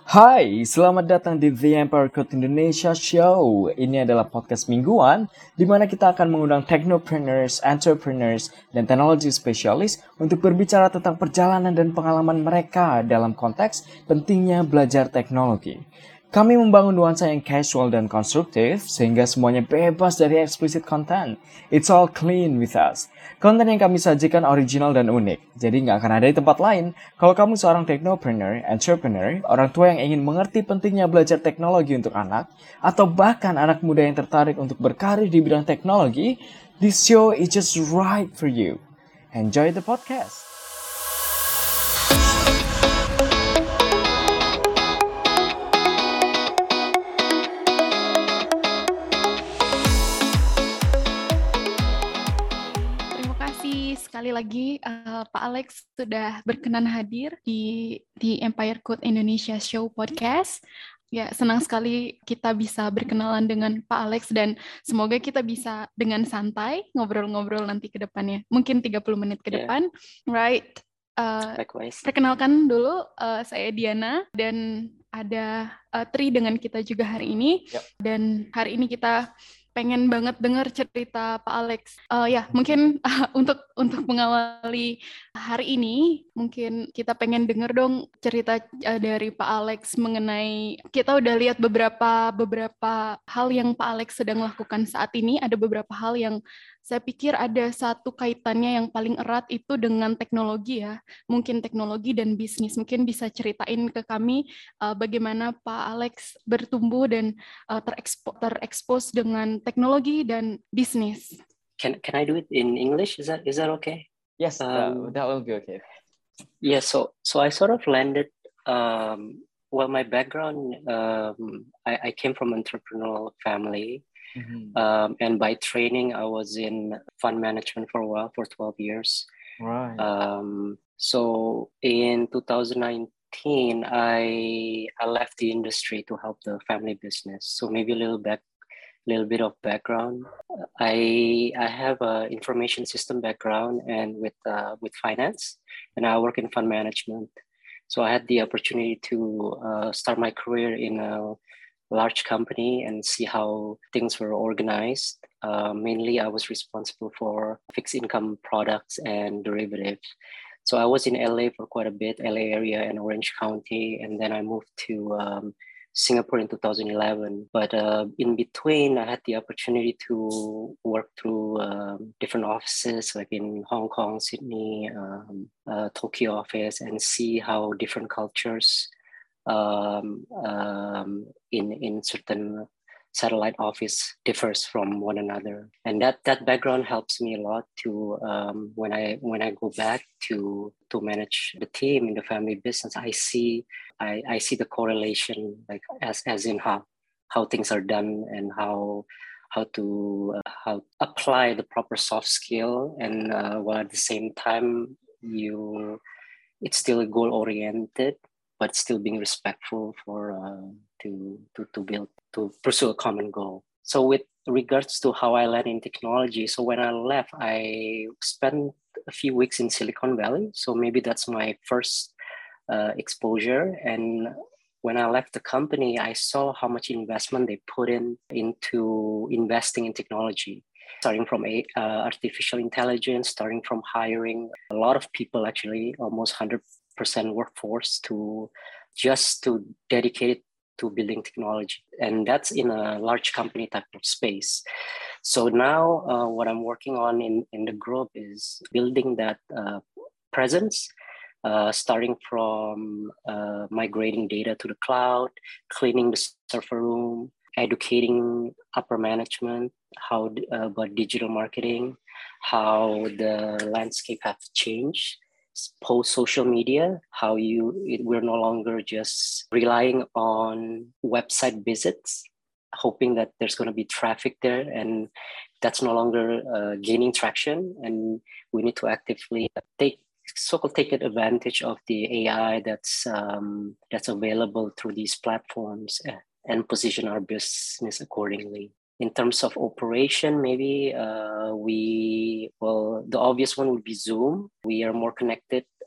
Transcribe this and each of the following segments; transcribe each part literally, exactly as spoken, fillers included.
Hai, selamat datang di The Empire Code Indonesia Show. Ini adalah podcast mingguan di mana kita akan mengundang technopreneurs, entrepreneurs, dan teknologi spesialis untuk berbicara tentang perjalanan dan pengalaman mereka dalam konteks pentingnya belajar teknologi. Kami membangun nuansa yang casual dan konstruktif sehingga semuanya bebas dari explicit content. It's all clean with us. Konten yang kami sajikan original dan unik, jadi nggak akan ada di tempat lain. Kalau kamu seorang technopreneur, entrepreneur, orang tua yang ingin mengerti pentingnya belajar teknologi untuk anak, atau bahkan anak muda yang tertarik untuk berkarir di bidang teknologi, this show is just right for you. Enjoy the podcast! Sekali lagi uh, Pak Alex sudah berkenan hadir di di Empire Code Indonesia Show Podcast. Ya, senang sekali kita bisa berkenalan dengan Pak Alex dan semoga kita bisa dengan santai ngobrol-ngobrol nanti ke depannya. Mungkin tiga puluh menit ke depan. Yeah. Right. Uh, perkenalkan dulu, uh, saya Diana dan ada uh, Tri dengan kita juga hari ini. Yep. Dan hari ini kita pengen banget dengar cerita Pak Alex. Uh, ya, mungkin uh, untuk untuk mengawali hari ini, mungkin kita pengen dengar dong cerita uh, dari Pak Alex mengenai, kita udah lihat beberapa beberapa hal yang Pak Alex sedang lakukan saat ini. Ada beberapa hal yang saya pikir ada satu kaitannya yang paling erat itu dengan teknologi ya. Mungkin teknologi dan bisnis. Mungkin bisa ceritain ke kami uh, bagaimana Pak Alex bertumbuh dan uh, terekspo- terekspos dengan teknologi dan bisnis. Can can I do it in English? Is that is that okay? Yes, um, that, that will be okay. Yeah, so so I sort of landed. Um, well, my background, um, I, I came from an entrepreneurial family. Mm-hmm. Um, and by training, I was in fund management for a while, for twelve years. Right. Um, so in two thousand nineteen, I I left the industry to help the family business. So maybe a little back, little bit of background. I I have a information system background and with uh, with finance, and I work in fund management. So I had the opportunity to uh, start my career in a large company and see how things were organized. Uh, mainly, I was responsible for fixed income products and derivatives. So I was in L A for quite a bit, L A area and Orange County, and then I moved to um, Singapore in two thousand eleven. But uh, in between, I had the opportunity to work through um, different offices, like in Hong Kong, Sydney, um, uh, Tokyo office, and see how different cultures Um, um, in in certain satellite office differs from one another, and that that background helps me a lot to um, when I when I go back to to manage the team in the family business. I see I, I see the correlation, like as as in how how things are done and how how to uh, how apply the proper soft skill, and uh, while at the same time you it's still goal oriented, but still being respectful for uh, to, to to build to pursue a common goal. So with regards to how I landed in technology, so when I left, I spent a few weeks in Silicon Valley. So maybe that's my first uh, exposure. And when I left the company, I saw how much investment they put in into investing in technology. Starting from a, uh, artificial intelligence, starting from hiring a lot of people, actually almost one hundred percent workforce to just to dedicate it to building technology. And that's in a large company type of space. So now uh, what I'm working on in, in the group is building that uh, presence, uh, starting from uh, migrating data to the cloud, cleaning the server room, educating upper management, how uh, about digital marketing, how the landscape have changed post social media, how you it, we're no longer just relying on website visits, hoping that there's going to be traffic there, and that's no longer uh, gaining traction, and we need to actively take so-called take advantage of the A I that's um, that's available through these platforms and position our business accordingly. In terms of operation, maybe uh, we, well, the obvious one would be Zoom. We are more connected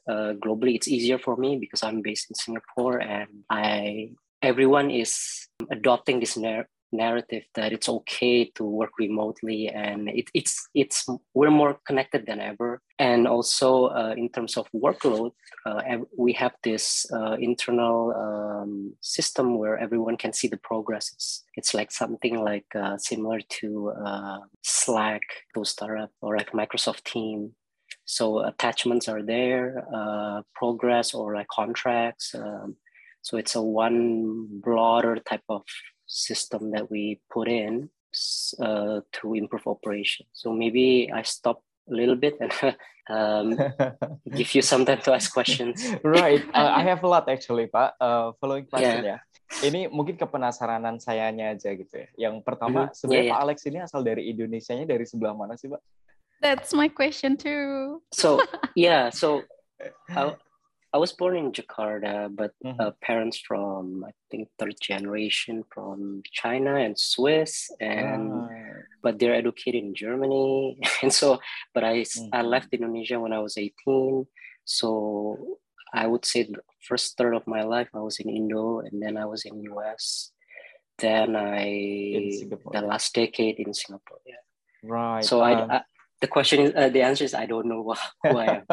uh, globally, it's easier for me because I'm based in Singapore, and I everyone is adopting this narrative narrative that it's okay to work remotely, and it, it's it's we're more connected than ever. And also uh, in terms of workload, uh, we have this uh, internal um, system where everyone can see the progresses. It's like something like uh, similar to uh, Slack, to startup, or like Microsoft Team. So attachments are there, uh, progress or like contracts. Um, so it's a one broader type of system that we put in uh, to improve operation. So maybe I stop a little bit and um, give you some time to ask questions. Right, uh, I have a lot actually, Pak. Uh, following question Yeah. ya. Ini mungkin kepenasaranan sayanya aja gitu ya. Yang pertama, Mm-hmm. sebenarnya Yeah, Pak yeah. Alex ini asal dari Indonesianya dari sebelah mana sih, Pak? That's my question too. So yeah, so I, I was born in Jakarta, but Mhm. uh, parents from I think third generation from China and Swiss, and Ah. but they're educated in Germany, and so but I I Mhm. left Indonesia when I was eighteen, so I would say the first third of my life I was in Indo, and then I was in U S, then I In Singapore. the last decade in Singapore. Yeah. Right. So uh, I, I the question is uh, the answer is I don't know who I am.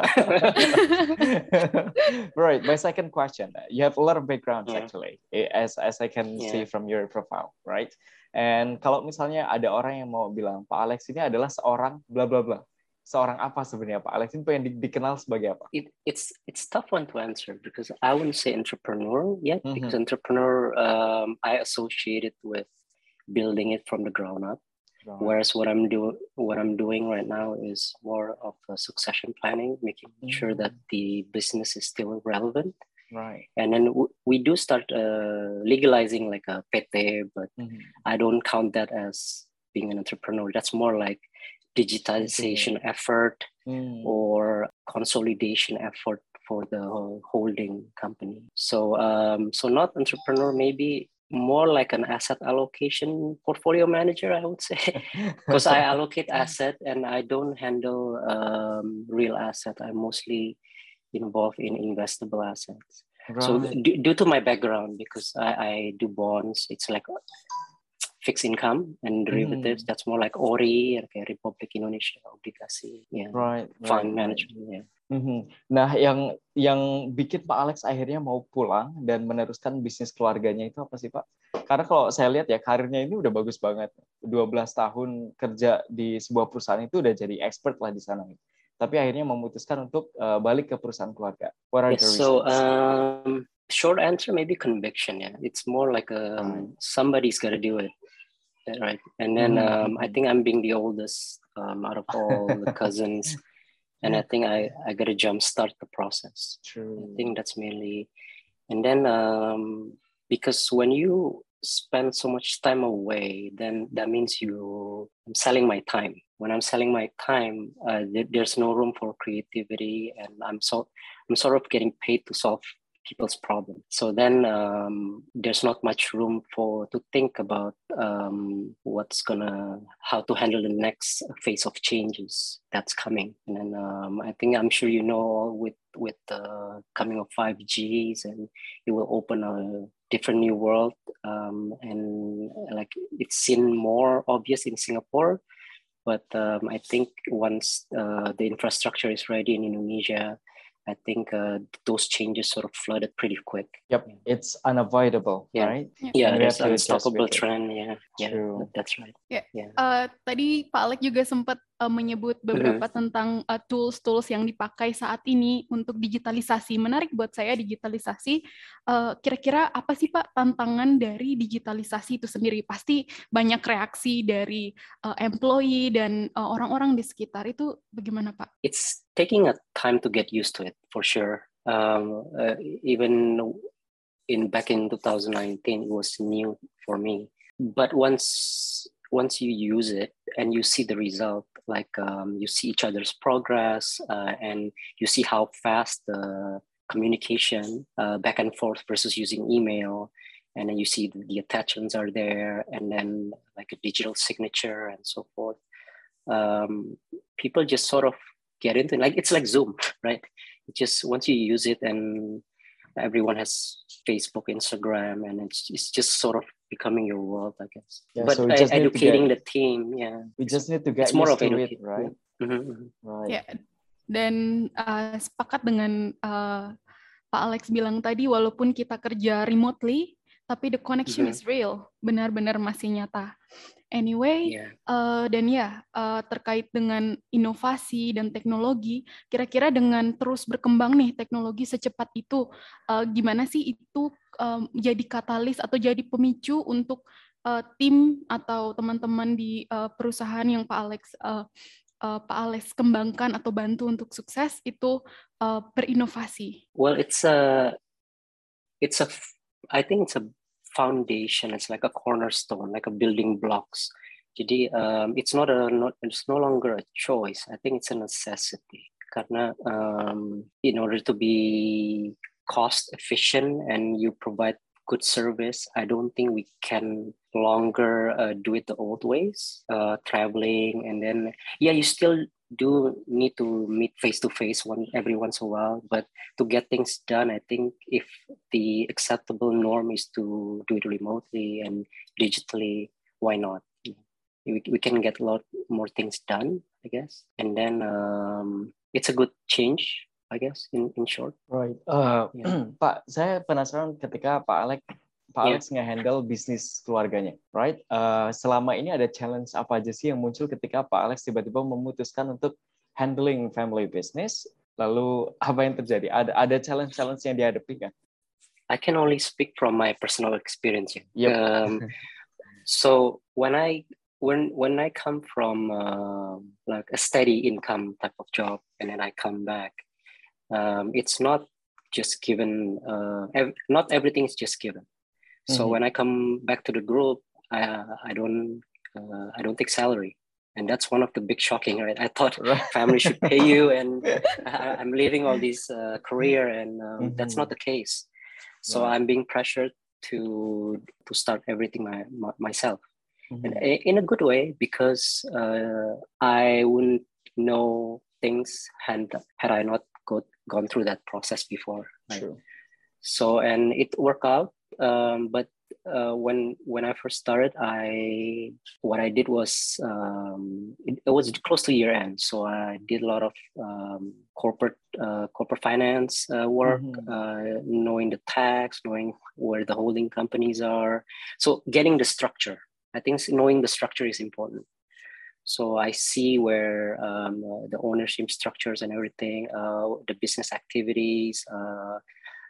Right. My second question. You have a lot of backgrounds Yeah. actually, as as I can see Yeah. from your profile, right? And kalau misalnya ada orang yang mau bilang Pak Alex ini adalah seorang bla bla bla, seorang apa sebenarnya Pak Alex ini pengen di, dikenal sebagai apa? It, it's it's tough one to answer because I wouldn't say entrepreneur yet, Mhm. because entrepreneur um, I associate it with building it from the ground up. Right. Whereas what I'm doing, what I'm doing right now is more of a succession planning, making sure that the business is still relevant. Right. And then w- we do start uh, legalizing like a P T, but Mhm. I don't count that as being an entrepreneur. That's more like digitalization Okay. effort Hmm. or consolidation effort for the holding company. So, um, so not entrepreneur, maybe more like an asset allocation portfolio manager, I would say, because I allocate asset and I don't handle um, real asset. I'm mostly involved in investable assets. Right. So d- due to my background, because I, I do bonds, it's like fixed income and derivatives. Mhm. That's more like O R I, kayak Republik Indonesia, obligasi, yeah, Right. fund Right. management, yeah. Mhm. Nah, yang yang bikin Pak Alex akhirnya mau pulang dan meneruskan bisnis keluarganya itu apa sih, Pak? Karena kalau saya lihat ya karirnya ini udah bagus banget. dua belas tahun kerja di sebuah perusahaan itu udah jadi expert lah di sana. Tapi akhirnya memutuskan untuk uh, balik ke perusahaan keluarga. What are Yes, the so reasons? um, short answer, maybe conviction, yeah. It's more like um, Right. somebody's got to do it, right? And then Mhm, um, I mhm. think I'm being the oldest um, out of all the cousins. And I think I, I got to jumpstart the process. True. I think that's mainly, and then um, because when you spend so much time away, then that means you, I'm selling my time. When I'm selling my time, uh, there, there's no room for creativity, and I'm so I'm sort of getting paid to solve people's problems. So then um, there's not much room for to think about um, what's gonna how to handle the next phase of changes that's coming. And then um, I think I'm sure you know with with the coming of five Gs, and it will open a different new world. Um, and like it's seen more obvious in Singapore, but um, I think once uh, the infrastructure is ready in Indonesia, I think uh, those changes sort of flooded pretty quick. Yep, it's unavoidable, Yeah. right? Yeah, And we there's have to adjust unstoppable with it. trend. Yeah, yeah, True. that- that's right. Ya, Yeah. eh, tadi Pak Alex juga sempat eh, menyebut beberapa tentang eh, tools-tools yang dipakai saat ini untuk digitalisasi. Menarik buat saya digitalisasi. Eh, kira-kira apa sih Pak tantangan dari digitalisasi itu sendiri? Pasti banyak reaksi dari eh, employee dan eh, orang-orang di sekitar. Itu bagaimana Pak? It's taking a time to get used to it for sure. Um, uh, even in back in two thousand nineteen, it was new for me. But once once you use it and you see the result, like um, you see each other's progress uh, and you see how fast the communication uh, back and forth versus using email, and then you see the, the attachments are there, and then like a digital signature and so forth. Um, people just sort of get into it. Like it's like Zoom, right? just once you use it, and everyone has Facebook, Instagram, and it's it's just sort of becoming your world, I guess. Yeah, But so we uh, just need to educating get the team, yeah, we it's, just need to get it's more used of to it, education. right? Yeah. Mhm, mhm. Right. Ya, dan uh, sepakat dengan uh, Pak Alex bilang tadi, walaupun kita kerja remotely, tapi the connection Mhm. is real, benar-benar masih nyata. Anyway, Yeah. uh, dan ya uh, terkait dengan inovasi dan teknologi, kira-kira dengan terus berkembang nih teknologi secepat itu, uh, gimana sih itu um, jadi katalis atau jadi pemicu untuk uh, tim atau teman-teman di uh, perusahaan yang Pak Alex uh, uh, Pak Alex kembangkan atau bantu untuk sukses itu uh, berinovasi? Well, it's a, it's a, I think it's a foundation. It's like a cornerstone, like a building blocks. Jadi, um, it's not a, not, it's no longer a choice. I think it's a necessity. Karena um, in order to be cost efficient and you provide good service, I don't think we can longer uh, do it the old ways, uh, traveling, and then yeah, you still do need to meet face to face one every once in a while, but to get things done, I think if the acceptable norm is to do it remotely and digitally, why not? We, we can get a lot more things done, I guess, and then um, it's a good change, I guess, in in short. Right. Uh, Yeah. Pak, saya penasaran ketika Pak Alex Pak Yeah. Alex nge-handle bisnis keluarganya, right? Uh, selama ini ada challenge apa aja sih yang muncul ketika Pak Alex tiba-tiba memutuskan untuk handling family business? Lalu apa yang terjadi? Ada ada challenge-challenge yang dihadapi kan? I can only speak from my personal experience. Yep. Um, so when I when when I come from uh, like a steady income type of job, and then I come back, um, it's not just given. Uh, ev- not everything is just given. So Mhm. when I come back to the group, I I don't uh, I don't take salary, and that's one of the big shocking. Right? I thought Right. family should pay you, and I, I'm leaving all this uh, career, and um, that's Mhm. not the case. So Right. I'm being pressured to to start everything my, my, myself, and Mhm. i- in a good way, because uh, I wouldn't know things had had I not go, gone through that process before. Right? True. So and it worked out, um, but uh, when when I first started, I what I did was um, it, it was close to year end, so I did a lot of um, corporate uh, corporate finance uh, work, Mhm. uh, knowing the tax, knowing where the holding companies are, so getting the structure. I think knowing the structure is important. So I see where um, uh, the ownership structures and everything, uh, the business activities. Uh,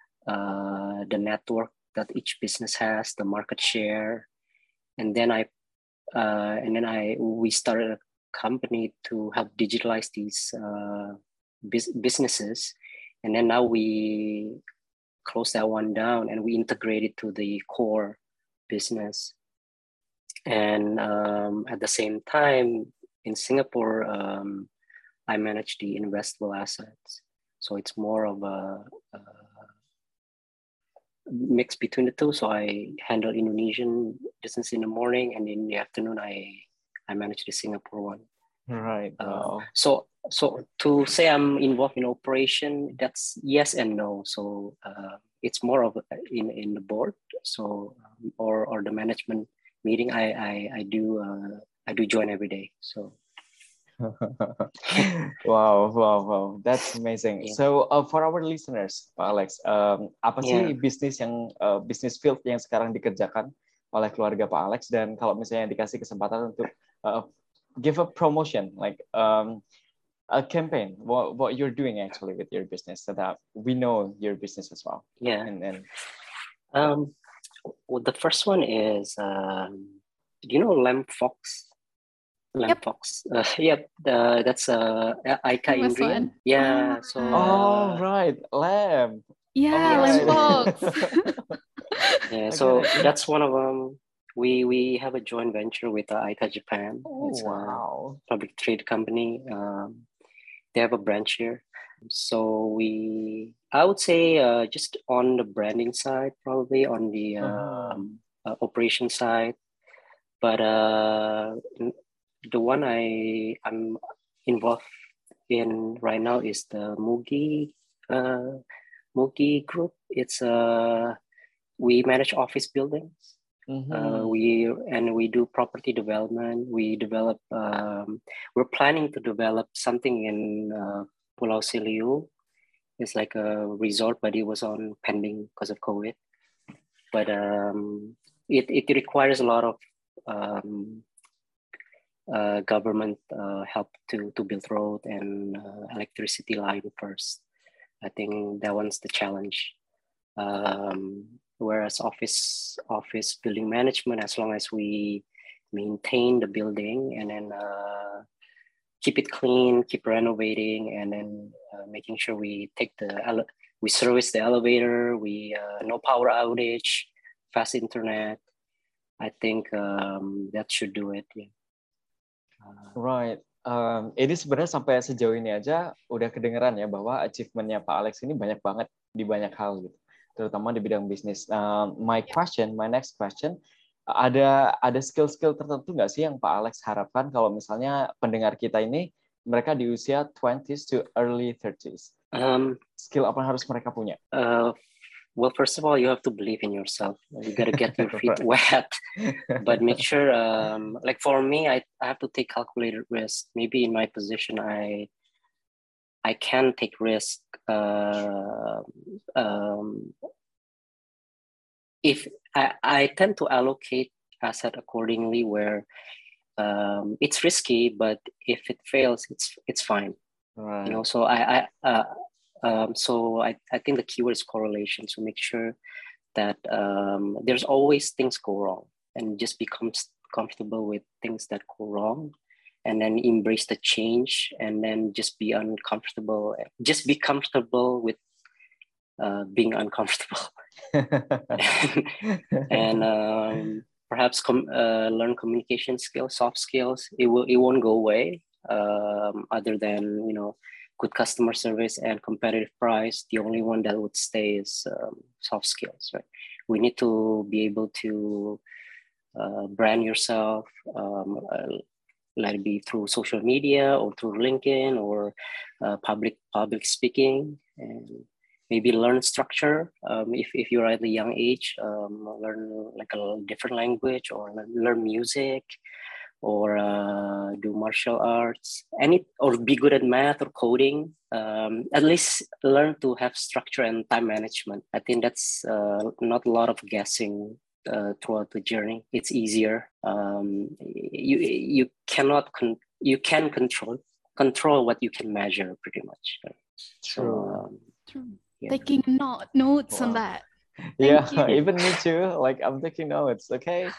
uh, the network that each business has, the market share, and then I uh, and then I we started a company to help digitalize these uh, bus- businesses, and then now we close that one down and we integrate it to the core business, and um, at the same time in Singapore, um, I manage the investable assets, so it's more of a, a mix between the two. So I handle Indonesian business in the morning, and in the afternoon I I manage the Singapore one. Right. Uh, Wow. so so to say I'm involved in operation, that's yes and no. So uh, it's more of a- in in the board, so um, or or the management meeting. I I I do uh, I do join every day. So Wow, wow, wow. That's amazing. yeah, So, uh, for our listeners, Pak Alex, um, apa sih yeah. bisnis yang uh, bisnis field yang sekarang dikerjakan oleh keluarga Pak Alex? Dan kalau misalnya dikasih kesempatan untuk uh, give a promotion, like um, a campaign, what what you're doing actually with your business, so that we know your business as well. Yeah. And then, Um, well, the first one is um, do you know Lamb Fox? Lamb Yep. Fox. Uh, yep. Uh, that's uh, Aika Famous Indrian. one. Yeah. Oh, So. oh Uh, right, lamb. Ya, All yeah. Lamb So. Fox. Yeah. I get So it. that's one of them. We we have a joint venture with uh, Aika Japan. Oh It's a wow. public trade company. Um, they have a branch here. So we, I would say, uh, just on the branding side, probably on the Uh-huh. um, uh, operation side. But uh, the one I I'm involved in right now is the Mugi uh, Multi Group. It's uh, we manage office buildings. Mm-hmm. Uh, we and we do property development. We develop. Um, we're planning to develop something in uh, Pulau Seliu. It's like a resort, but it was on pending because of COVID. But um, it it requires a lot of um, uh, government uh, help to to build road and uh, electricity line first. I think that one's the challenge. Um, whereas office office building management, as long as we maintain the building and then uh, keep it clean, keep renovating, and then uh, making sure we take the ele- we service the elevator, we uh, no power outage, fast internet. I think um, that should do it. Yeah. Uh, right. Um, ini sebenarnya sampai sejauh ini aja udah kedengeran ya bahwa achievement-nya Pak Alex ini banyak banget di banyak hal gitu, terutama di bidang bisnis. Uh, my question, my next question, ada ada skill-skill tertentu nggak sih yang Pak Alex harapkan kalau misalnya pendengar kita ini mereka di usia twenties to early thirties? Um, skill apa yang harus mereka punya? Uh, well, first of all, you have to believe in yourself. You got to get your feet wet, but make sure, um, like for me, I, I have to take calculated risk. Maybe in my position, I I can take risk. Uh, um, if I, I tend to allocate asset accordingly, where um, it's risky, but if it fails, it's it's fine. Right. You know, so I I. Uh, Um, so I, I think the keyword is correlation. So make sure that um, there's always things go wrong, and just become comfortable with things that go wrong, and then embrace the change, and then just be uncomfortable. Just be comfortable with uh, being uncomfortable, and, and um, perhaps com- uh, learn communication skills, soft skills. It will it won't go away. Um, other than you know. Good customer service and competitive price, the only one that would stay is um, soft skills, right? We need to be able to uh, brand yourself, um, uh, let it be through social media or through LinkedIn or uh, public public speaking, and maybe learn structure. Um, if, if you're at a young age, um, learn like a different language or learn, learn music, or uh, do martial arts, any or be good at math or coding. Um, at least learn to have structure and time management. I think that's uh, not a lot of guessing uh, throughout the journey. It's easier. Um, you you cannot con- you can control control what you can measure pretty much. True. So, um, True. Yeah. Taking not notes wow. on that. Thank yeah, you. Even me too. Like I'm taking notes. Okay.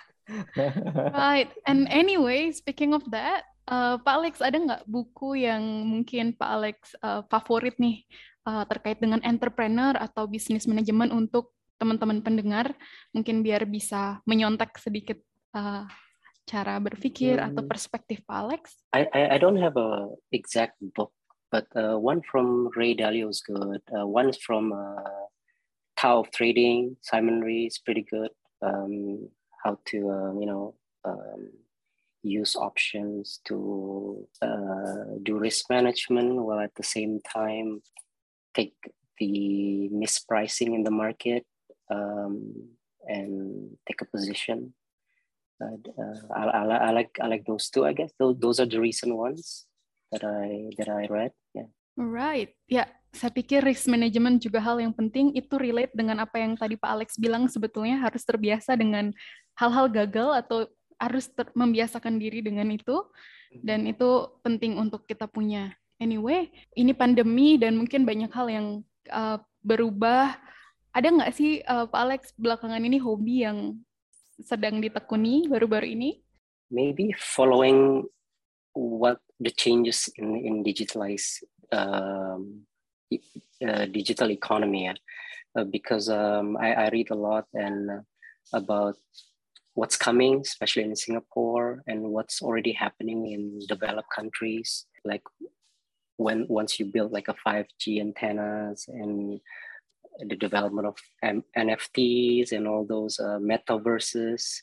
Right. And anyway, speaking of that, uh, Pak Alex, ada nggak buku yang mungkin Pak Alex uh, favorit nih uh, terkait dengan entrepreneur atau bisnis manajemen untuk teman-teman pendengar, mungkin biar bisa menyontek sedikit uh, cara berpikir hmm. atau perspektif Pak Alex? I, I I don't have a exact book, but uh, one from Ray Dalio is good. Uh, one from uh, Tao of Trading, Simon Ray is pretty good. Um, how to, uh, you know, um, use options to uh, do risk management while at the same time take the mispricing in the market um, and take a position. Uh, I, I, I like I like those two. I guess those those are the recent ones that I that I read. Yeah. Right. Ya, saya pikir risk management juga hal yang penting. Itu relate dengan apa yang tadi Pak Alex bilang, sebetulnya harus terbiasa dengan hal-hal gagal atau harus ter- membiasakan diri dengan itu. Dan itu penting untuk kita punya. Anyway, ini pandemi dan mungkin banyak hal yang uh, berubah. Ada nggak sih uh, Pak Alex belakangan ini hobi yang sedang ditekuni baru-baru ini? Maybe following what the changes in in digitalized um, uh, digital economy, uh, because um, I, I read a lot and uh, about what's coming, especially in Singapore, and what's already happening in developed countries. Like when once you build like a five G antennas and the development of M- N F Ts and all those uh, metaverses,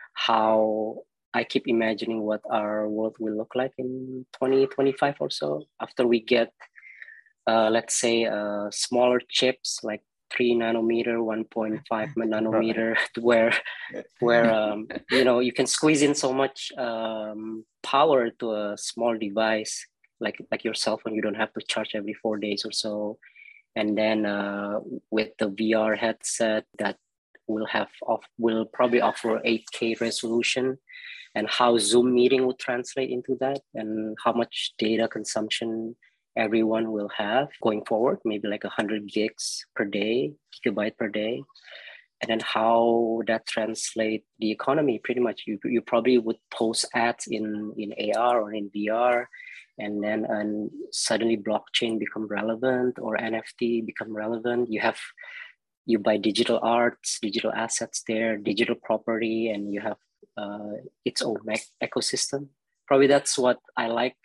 how I keep imagining what our world will look like in twenty twenty-five or so after we get uh, let's say uh, smaller chips like three nanometer, one point five nanometer, right. where where um, you know you can squeeze in so much um, power to a small device like like your cell phone. You don't have to charge every four days or so. And then uh, with the V R headset that will have off will probably offer eight K resolution, and how Zoom meeting would translate into that, and how much data consumption everyone will have going forward, maybe like one hundred gigs per day, gigabyte per day. And then how that translate the economy. Pretty much you, you probably would post ads in, in A R or in V R, and then and suddenly blockchain become relevant or N F T become relevant. You have, you buy digital arts, digital assets there, digital property, and you have uh, its own ecosystem. Probably that's what I like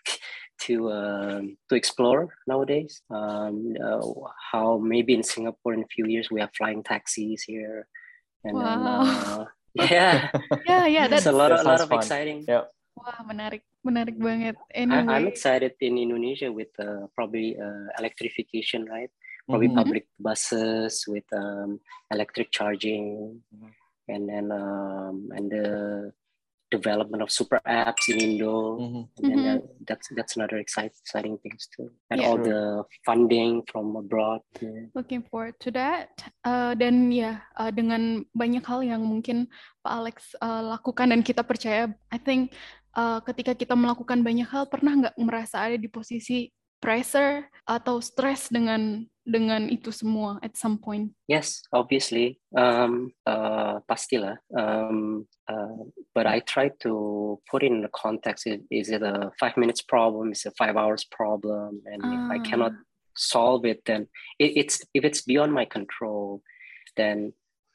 to uh, to explore nowadays. Um, uh, how maybe in Singapore in a few years we have flying taxis here, and wow. then uh, yeah, yeah, yeah, that's a lot, that a lot of fun. exciting. Yep. Wah, menarik, menarik banget. I, I'm Anyway, excited in Indonesia with uh, probably uh, electrification, right? Probably Mhm. public buses with um, electric charging, Mhm. and then um, and the development of super apps in Indo, Mhm. and then Mhm. uh, that's that's another exciting exciting things too, and Yeah. all True. the funding from abroad. Yeah. Looking forward to that. Uh, dan ya, uh, dengan banyak hal yang mungkin Pak Alex uh, lakukan dan kita percaya, I think uh, ketika kita melakukan banyak hal, pernah nggak merasa ada di posisi pressure atau stress dengan dengan itu semua at some point? Yes, obviously, um, uh, pastilah. Um, uh, but I try to put in the context. Is, is it a five minutes problem? Is it a five hours problem? And if I cannot Ah, solve it, then it, it's if it's beyond my control, then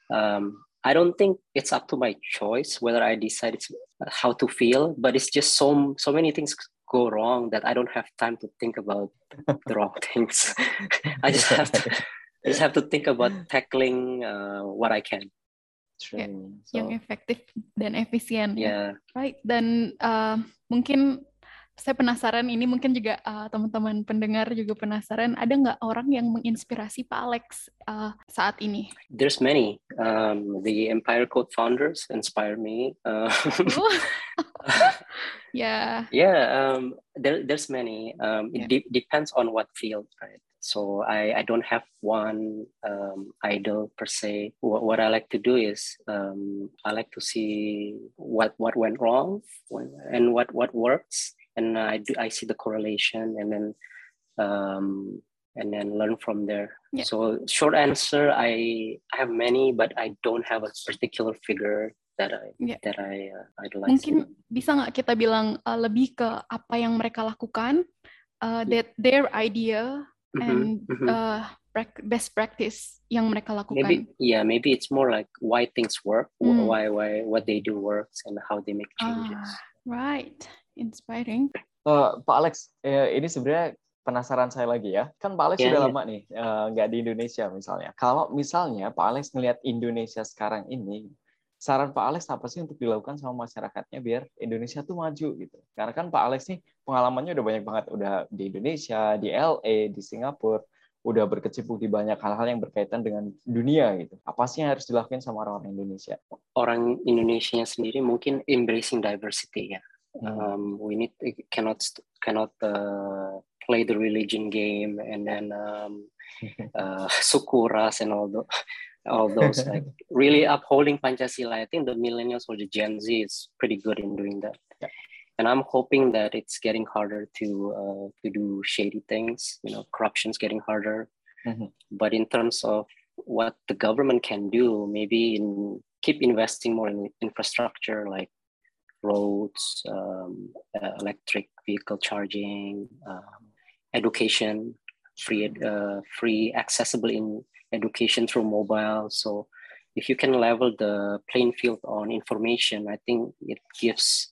um, I don't think it's up to my choice whether I decide it's how to feel. But it's just so so many things go wrong that I don't have time to think about the wrong things. I just have to. I just have to think about tackling uh, what I can. ya, True. yang So, efektif dan efisien ya. Yeah. Right. Dan uh, mungkin saya penasaran, ini mungkin juga uh, teman-teman pendengar juga penasaran, ada nggak orang yang menginspirasi Pak Alex uh, saat ini? There's many. Um, the Empire Code founders inspire me. Uh, Ya. yeah, um, there, there's many. Um, it Yeah. de- depends on what field, right? So I, I don't have one um, idol per se. What, what I like to do is um, I like to see what what went wrong and what what works, and I do I see the correlation, and then um, and then learn from there. Yeah. So short answer, I I have many, but I don't have a particular figure that I Yeah. that I uh, idolize. Mungkin bisa nggak kita bilang uh, lebih ke apa yang mereka lakukan, uh, that their idea Mhm, and mhm. uh, prac- best practice yang mereka lakukan. Maybe yeah, maybe it's more like why things work, wh- Hmm. why why what they do works, and how they make changes. Ah, right, inspiring. uh, Pak Alex, eh, ini sebenarnya penasaran saya lagi ya. Kan Pak Alex Yeah, sudah yeah. lama nih eh, nggak di Indonesia misalnya. Kalau misalnya Pak Alex ngelihat Indonesia sekarang ini, saran Pak Alex apa sih untuk dilakukan sama masyarakatnya biar Indonesia tuh maju gitu? Karena kan Pak Alex nih pengalamannya udah banyak banget, udah di Indonesia, di L A, di Singapura, udah berkecimpung di banyak hal-hal yang berkaitan dengan dunia gitu. Apa sih yang harus dilakukan sama orang-orang Indonesia? Orang Indonesia sendiri mungkin embracing diversity ya. Hmm. Um, we need cannot cannot uh, play the religion game and then um, uh, suku ras and all those all those like really upholding Pancasila. I think the millennials or the Gen Z is pretty good in doing that. Yeah. And I'm hoping that it's getting harder to uh, to do shady things. You know, corruption's getting harder. Mhm. But in terms of what the government can do, maybe in keep investing more in infrastructure like roads, um, uh, electric vehicle charging, um, education, free uh, free accessible in education through mobile. So if you can level the playing field on information, I think it gives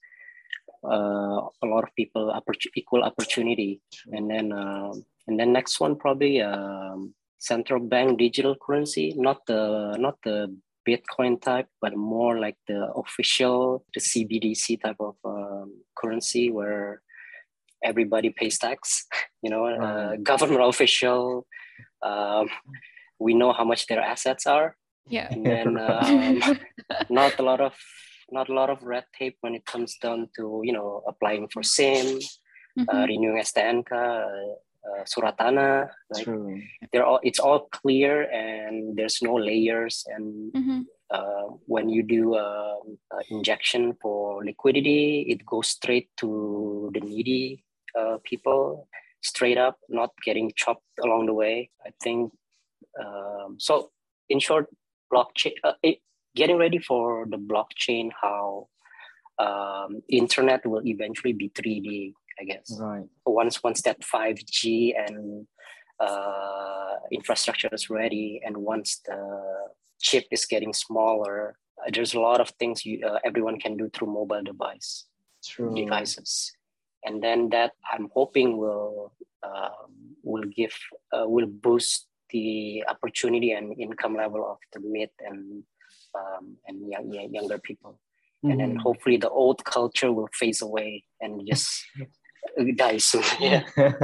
uh, a lot of people oppor- equal opportunity. And then um, and then next one probably um, central bank digital currency, not the not the Bitcoin type, but more like the official, the C B D C type of um, currency where everybody pays tax, you know, uh, Right. government official, um, we know how much their assets are, Yeah. and then um, not a lot of not a lot of red tape when it comes down to, you know, applying for SIM, uh, Mhm. renewing S T N K, uh, uh, surat tanah. Like True. they're all, it's all clear, and there's no layers. And Mhm. uh, when you do a, a injection for liquidity, it goes straight to the needy uh, people, straight up, not getting chopped along the way. I think um, so. In short, blockchain. Uh, it, getting ready for the blockchain, how um, internet will eventually be three D, I guess. Right. Once once that five G and uh, infrastructure is ready, and once the chip is getting smaller, uh, there's a lot of things you, uh, everyone can do through mobile device True. devices, and then that I'm hoping will um, will give uh, will boost the opportunity and income level of the mid and um, and young, younger people. And then Mhm. hopefully the old culture will phase away and just die soon. Yeah.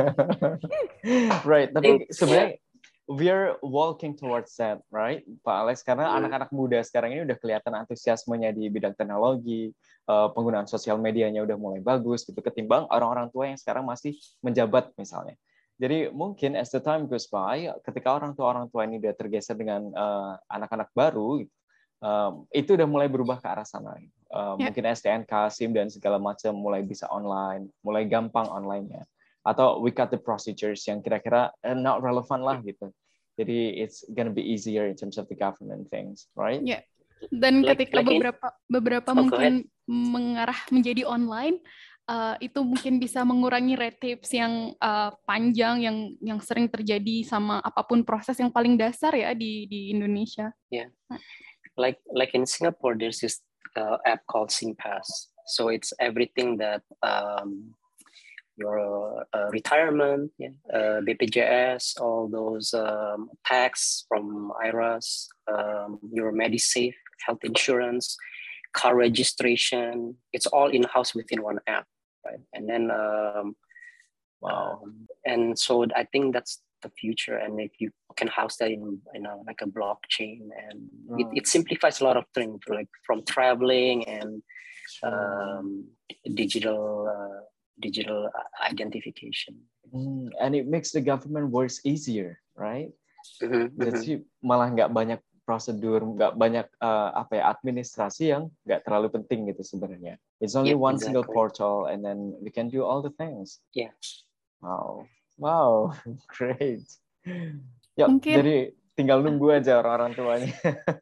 Right, I tapi think, yeah. sebenarnya we're walking towards that, right, Pak Alex? Karena Hmm. anak-anak muda sekarang ini udah kelihatan antusiasmenya di bidang teknologi, eh, penggunaan sosial medianya udah mulai bagus gitu, ketimbang orang-orang tua yang sekarang masih menjabat misalnya. Jadi mungkin as the time goes by, ketika orang tua-orang tua ini udah tergeser dengan eh, anak-anak baru, gitu, um, itu udah mulai berubah ke arah sana. Uh, Ya. Mungkin S T N K, SIM dan segala macam mulai bisa online, mulai gampang online-nya. Atau we cut the procedures yang kira-kira eh, not relevant lah gitu. Jadi it's gonna be easier in terms of the government things, right? Ya. Dan Like- ketika like in- beberapa beberapa Oh, go mungkin mengarah menjadi online, uh, itu mungkin bisa mengurangi red tapes yang uh, panjang yang yang sering terjadi sama apapun proses yang paling dasar ya di di Indonesia. like like in Singapore, there's this uh, app called SingPass. So it's everything that um, your uh, retirement, yeah, uh, B P J S, all those um, tax from I R A S, um, your MediSafe, health insurance, car registration. It's all in-house within one app, right? And then um, Wow. Um, and so I think that's the future. And if you can house that in, you know, like a blockchain, and it, Right. it simplifies a lot of things, like from traveling and True. um, digital uh, digital identification. Hmm, and it makes the government works easier, right? Mhm, mhm. Jadi malah nggak banyak prosedur, nggak banyak uh, apa ya administrasi yang nggak terlalu penting gitu sebenarnya. It's only Yep, one single exactly. portal, and then we can do all the things. Yeah. Wow, wow, great. Yap, Mungkin- jadi tinggal nunggu aja orang-orang tuanya.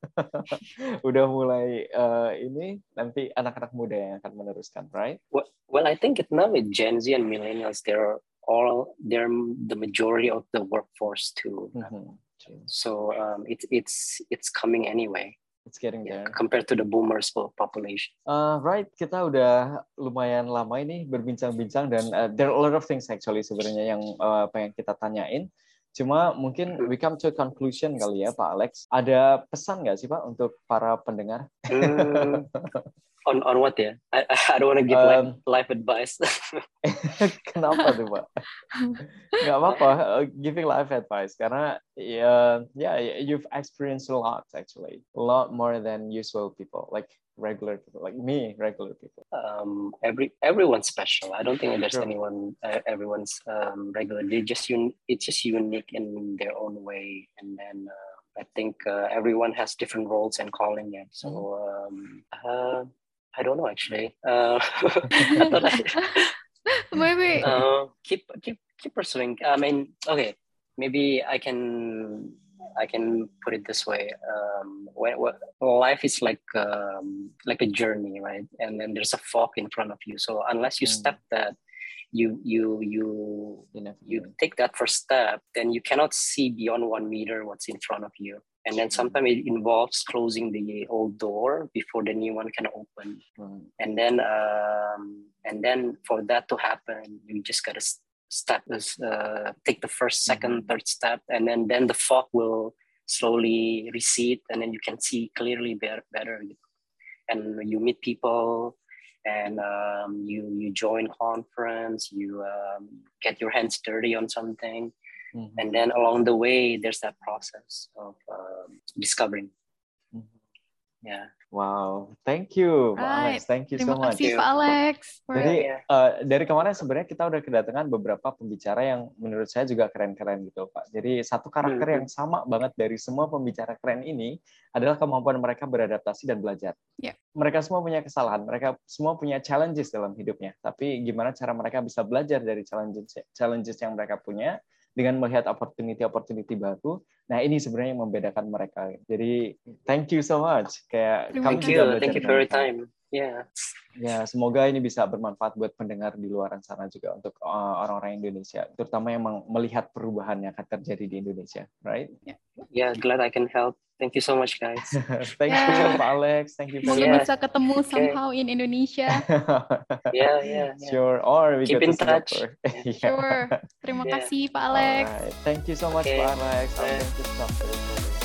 Udah mulai uh, ini nanti anak-anak muda yang akan meneruskan, right? Well, well, I think it now with Gen Z and millennials, they're all they're the majority of the workforce too. Mhm, true. So um, it's it's it's coming anyway. It's getting Yeah, there. compared to the boomers population. Uh, right, kita udah lumayan lama ini berbincang-bincang dan uh, there are a lot of things actually sebenarnya yang uh, pengen kita tanyain. Cuma mungkin we come to a conclusion kali ya Pak Alex. Ada pesan nggak sih Pak untuk para pendengar? Mm, on on what ya? I I don't want to give Um, life life advice. Kenapa tuh Pak? Nggak apa-apa, uh, giving life advice karena ya yeah, you've experienced a lot actually, a lot more than usual people, like regular people, like me, regular people. um, every everyone's special. I don't think there's Sure. anyone. Uh, everyone's um, regular. They just un- It's just unique in their own way, and then. Uh, I think uh, everyone has different roles and calling. Yeah. So um, uh, I don't know actually. Uh, I thought I, Maybe uh, keep keep keep pursuing. I mean, okay, maybe I can I can put it this way. Um, when, when life is like um, like a journey, right? And then there's a fog in front of you. So unless you Mm. step that, you you you You never you know. take that first step, then you cannot see beyond one meter what's in front of you. And then Sure. sometimes it involves closing the old door before the new one can open. Right. And then um, and then for that to happen, you just gotta s- step this, uh, take the first, second, Mhm. third step, and then then the fog will slowly recede, and then you can see clearly better. better. And you meet people, and um, you you join conference, you um, get your hands dirty on something, mm-hmm. and then along the way there's that process of um, discovering. Mm-hmm. Yeah. Wow, thank you, Pak Right. Alex. Thank you Terima so much. kasih Pak Alex. Jadi uh, dari kemarin sebenarnya kita udah kedatangan beberapa pembicara yang menurut saya juga keren-keren gitu, Pak. Jadi satu karakter mm-hmm. yang sama banget dari semua pembicara keren ini adalah kemampuan mereka beradaptasi dan belajar. Yeah. Mereka semua punya kesalahan, mereka semua punya challenges dalam hidupnya. Tapi gimana cara mereka bisa belajar dari challenges challenges yang mereka punya dengan melihat opportunity-opportunity baru. Nah, ini sebenarnya yang membedakan mereka. Jadi, thank you so much. Kayak thank kamu you, juga belajar thank you for your time. Yeah. Ya, semoga ini bisa bermanfaat buat pendengar di luar sana juga untuk uh, orang-orang Indonesia, terutama yang melihat perubahan yang akan terjadi di Indonesia, right? Yeah, yeah, glad I can help. Thank you so much, guys. Thank yeah. you, Pak Alex. Thank you. Semoga yeah. bisa ketemu somehow okay. in Indonesia. yeah, yeah, yeah. Sure. Or we keep go in to touch. yeah. Sure. Terima yeah. kasih, Pak Alex. Alright. Thank you so much, okay. Pak Alex. I'm going to stop this.